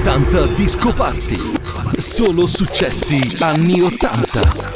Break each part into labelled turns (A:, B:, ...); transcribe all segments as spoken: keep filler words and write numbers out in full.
A: ottanta Disco Party. Solo successi anni ottanta.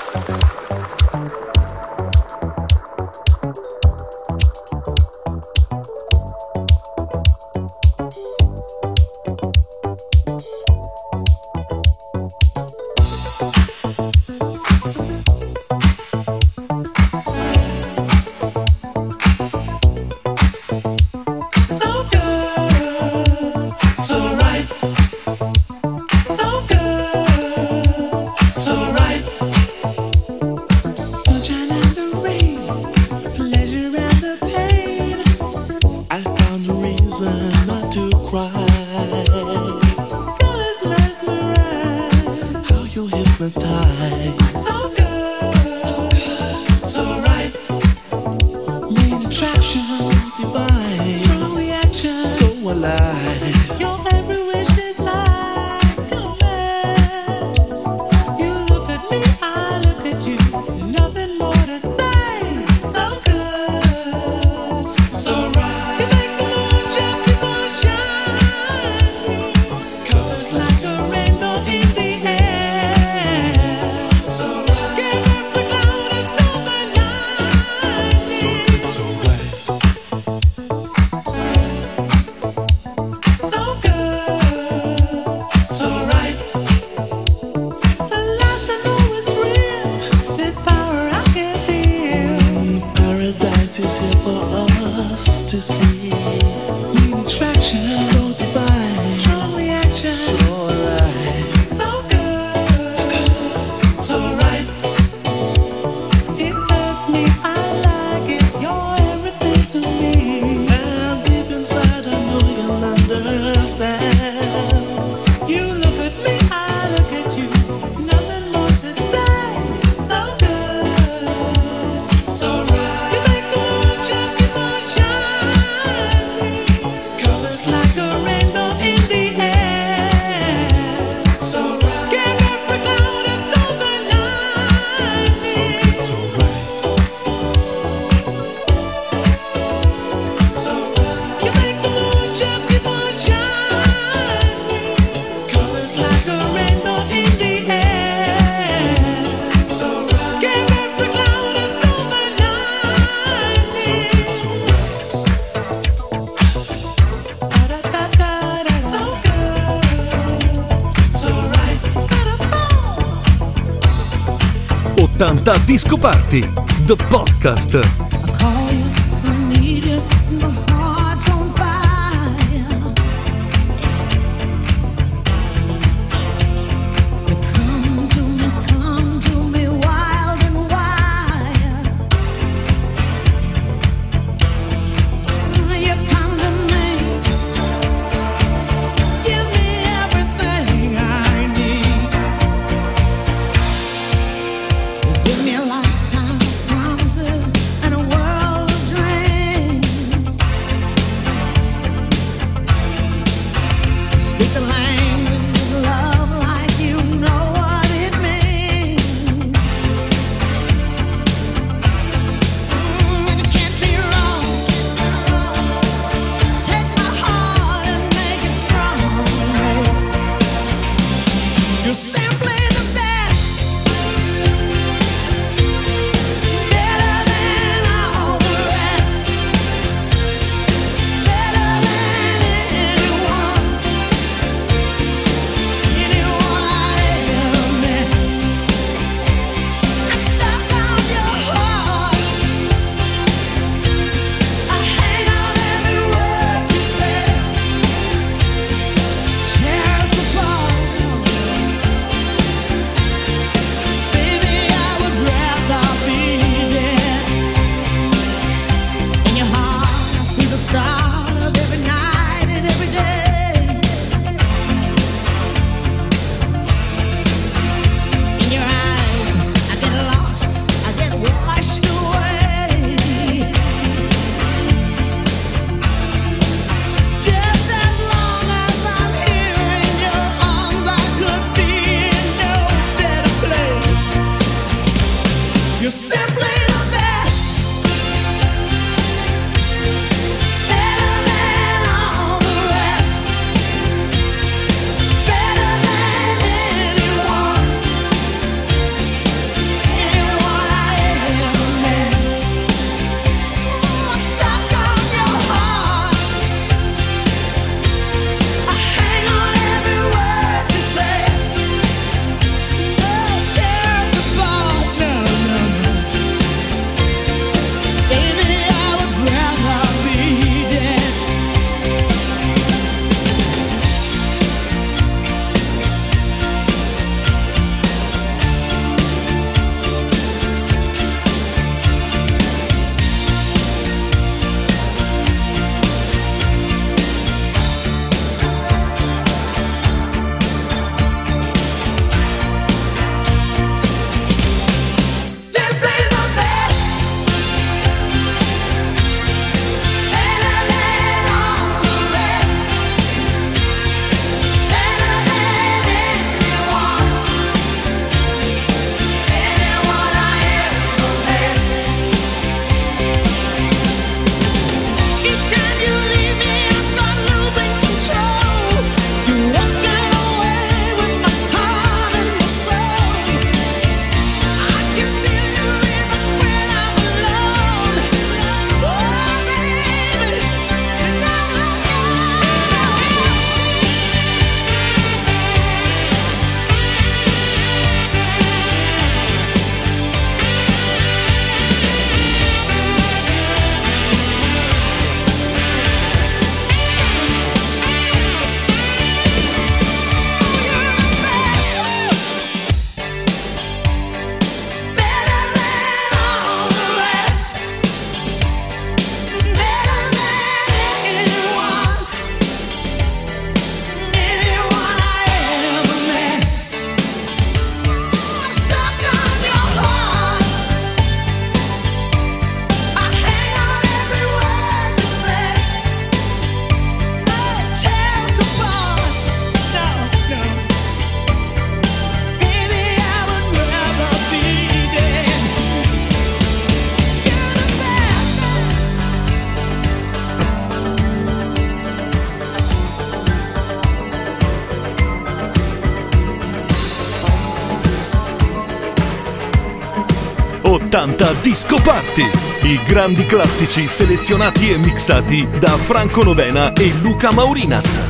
A: ottanta Disco Party, the podcast.
B: Give me a lifetime promises and a world
A: ottanta Disco Party. I grandi classici selezionati e mixati da Franco Novena e Luca Maurinaz.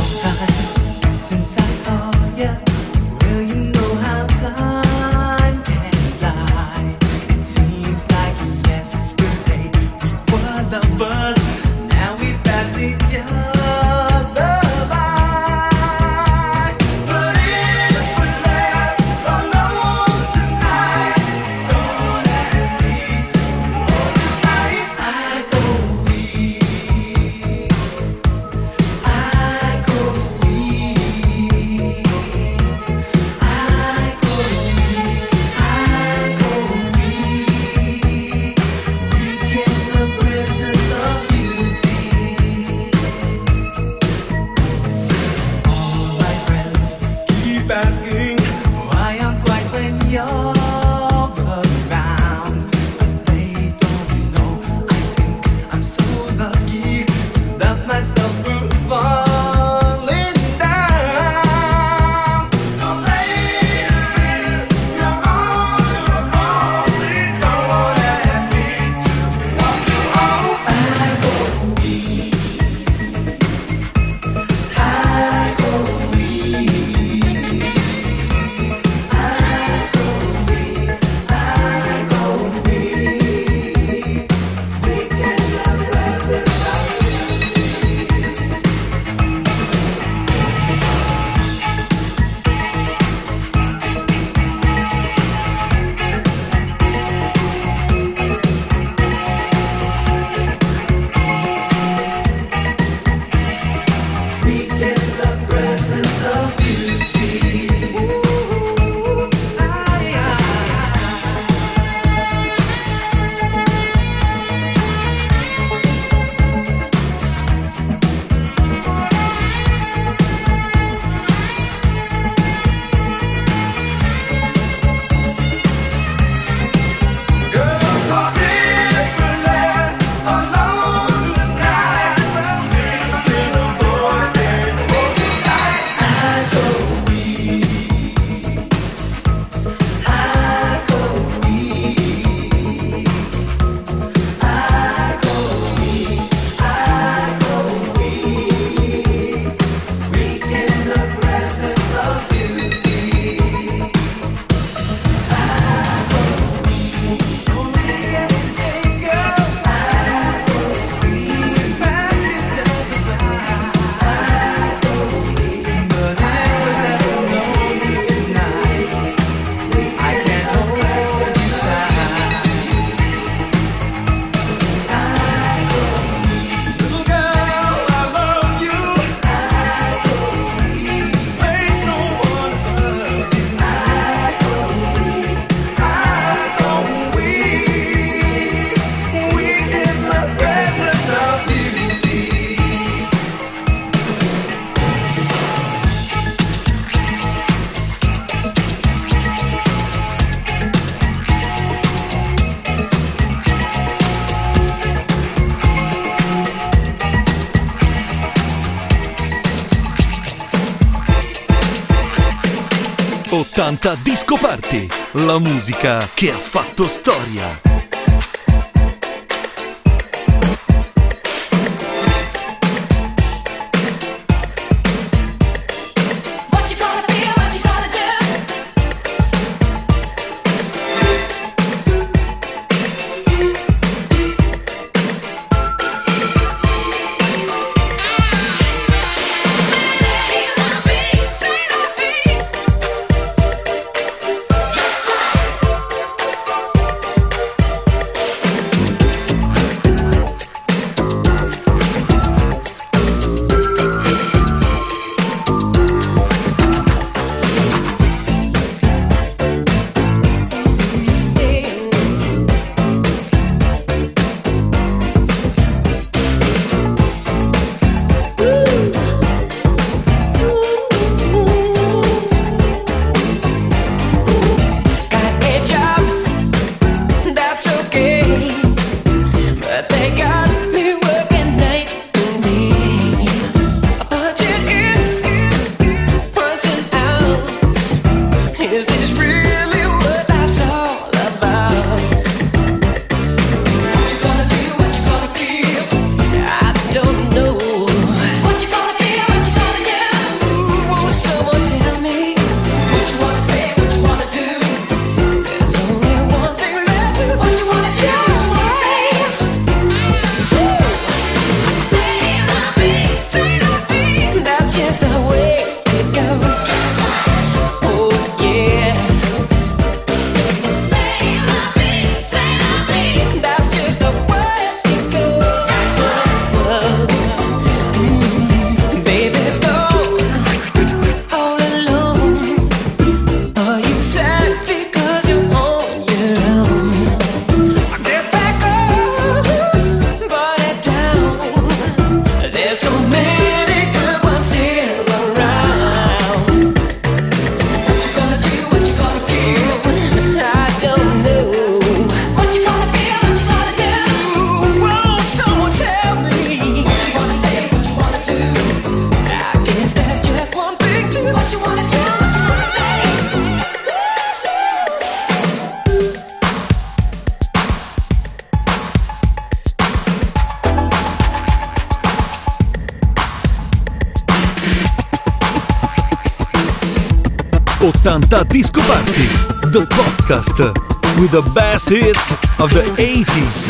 A: ottanta Disco Party, la musica che ha fatto storia. ottanta Disco Party, the podcast with the best hits of the eighties.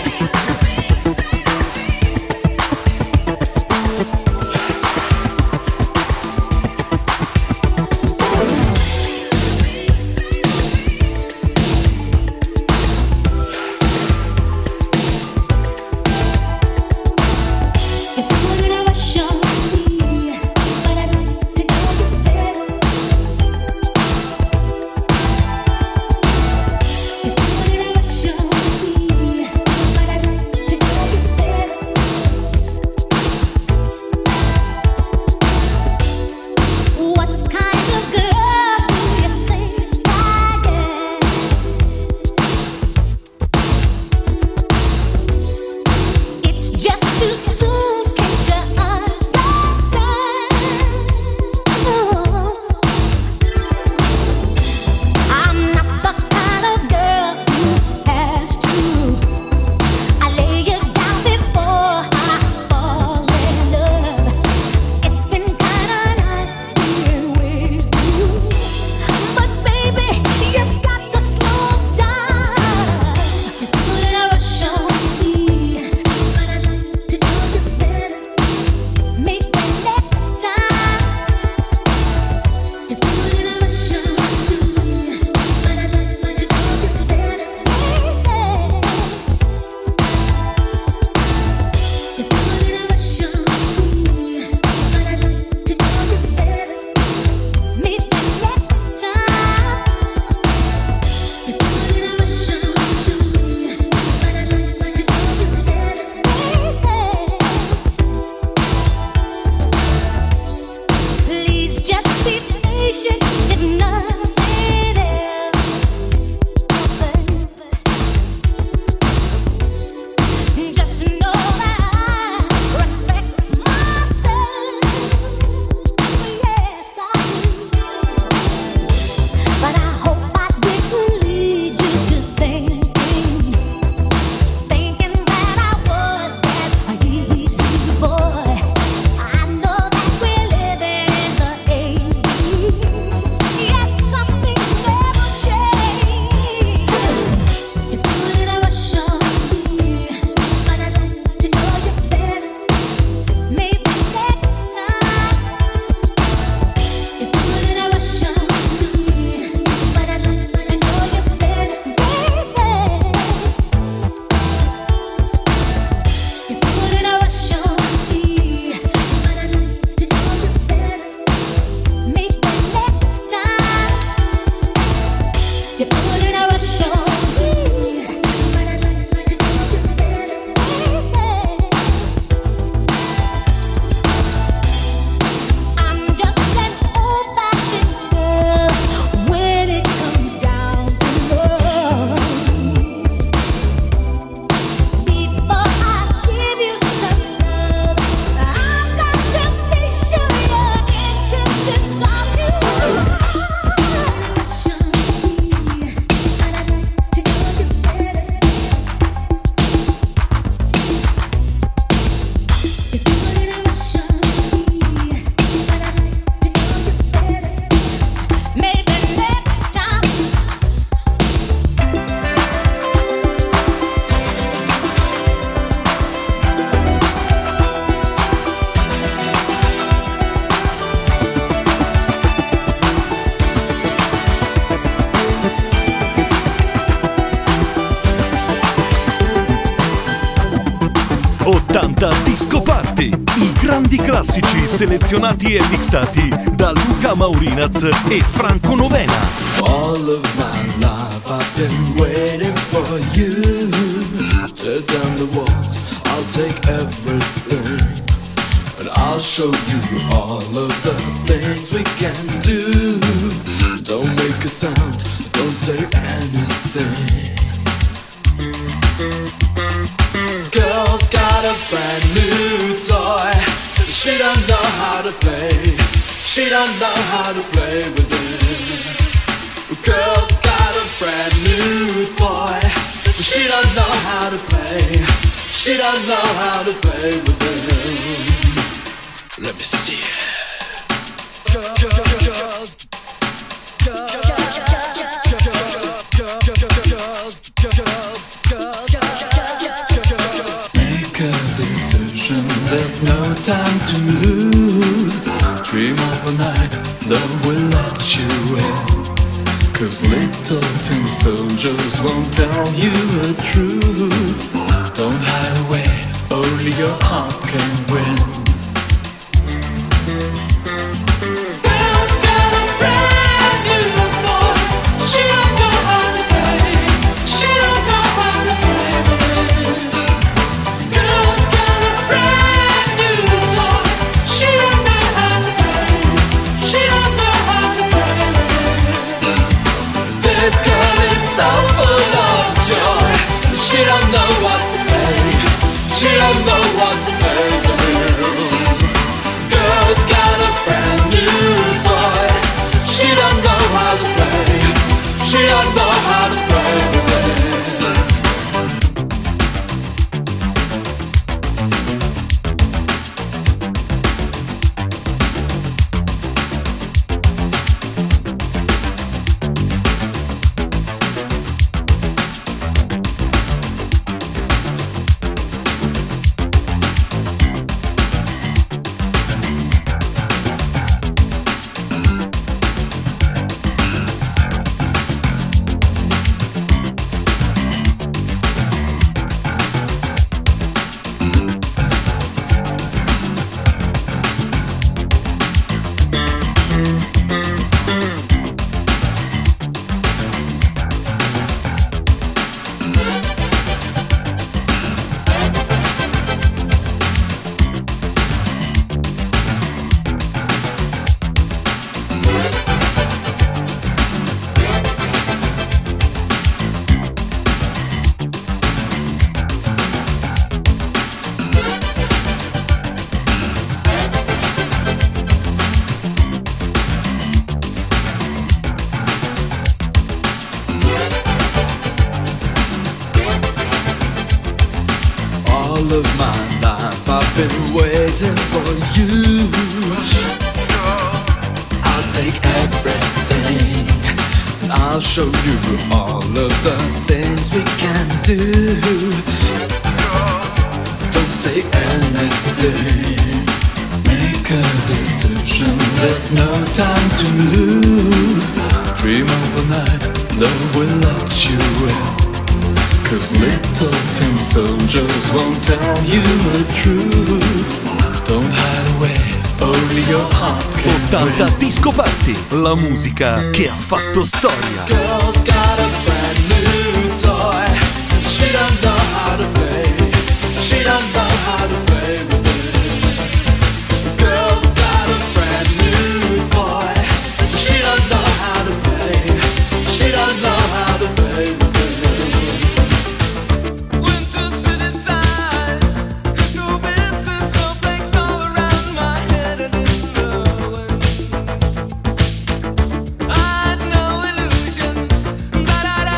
A: ottanta Disco Party, i grandi classici selezionati e mixati da Luca Maurinaz e Franco Novena.
B: All of my life I've been waiting for you. Tear down the walls, I'll take everything, and I'll show you all of the things we can do. Don't make a sound, don't say anything. Girl's got a brand new toy, she don't know how to play. she don't know how to play with him. Girl's got a brand new boy, but she don't know how to play. She don't know how to play with him. Let me see it. Girls, girls, girls, girls, make a decision. There's no time to lose. Dream of a night, love will let you in. Cause little tin soldiers won't tell you the truth. Don't hide away, only your heart can win. Girl's got a brand new boy. She don't know how to play. She don't know how to play with him. Girl's got a brand new toy. She don't know how to play. She don't know how to play with him. This girl is so full of joy. She don't know what to say. She don't know what to say to him. Girl's got a brand new toy. She don't know how to play. She don't know how to play with it. All of my life I've been waiting for you. I'll take everything and I'll show you all of the things we can do. Don't say anything, make a decision. There's no time to lose. Dream of a night, love will let you in. Cause little tin soldiers won't tell you the truth. Don't hide away, only your heart can
A: ottanta
B: win.
A: Disco Party, la musica che ha fatto storia.
B: Girl's got a brand new toy. She don't know how to play. She don't know how to play with it. Girl's got a brand new boy. She don't know how to play. She don't know how to play with it.
C: Da da da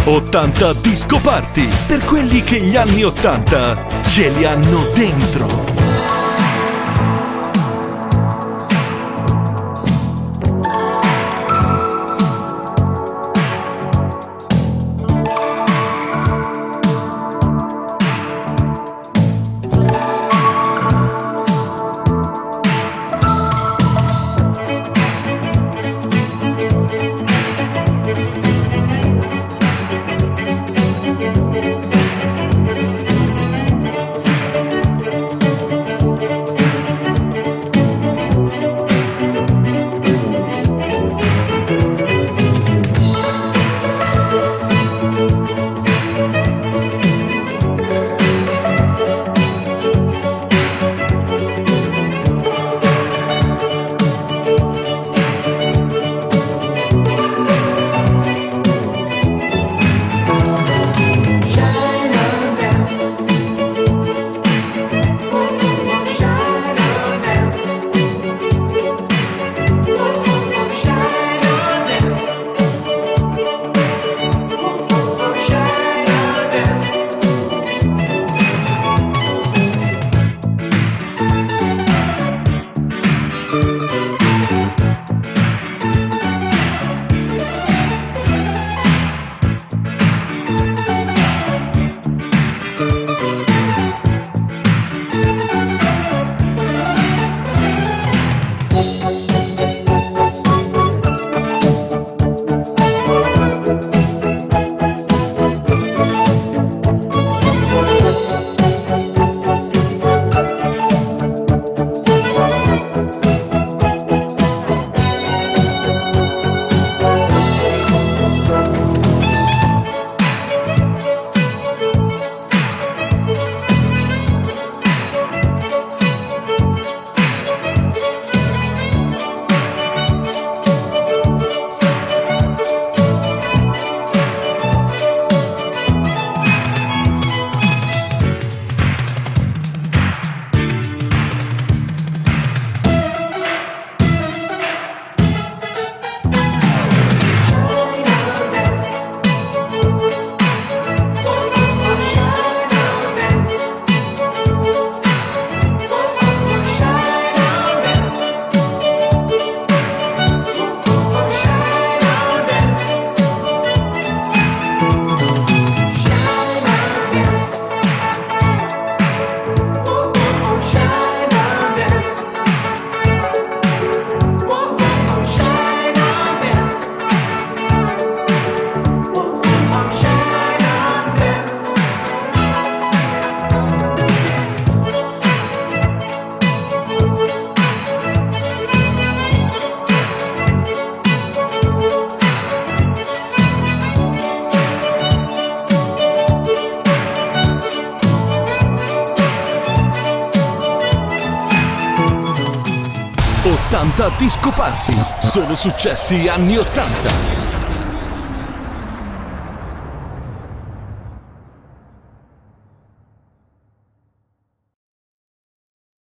A: ottanta Disco Party, per quelli che gli anni ottanta ce li hanno dentro. ottanta Disco Party, solo successi anni ottanta.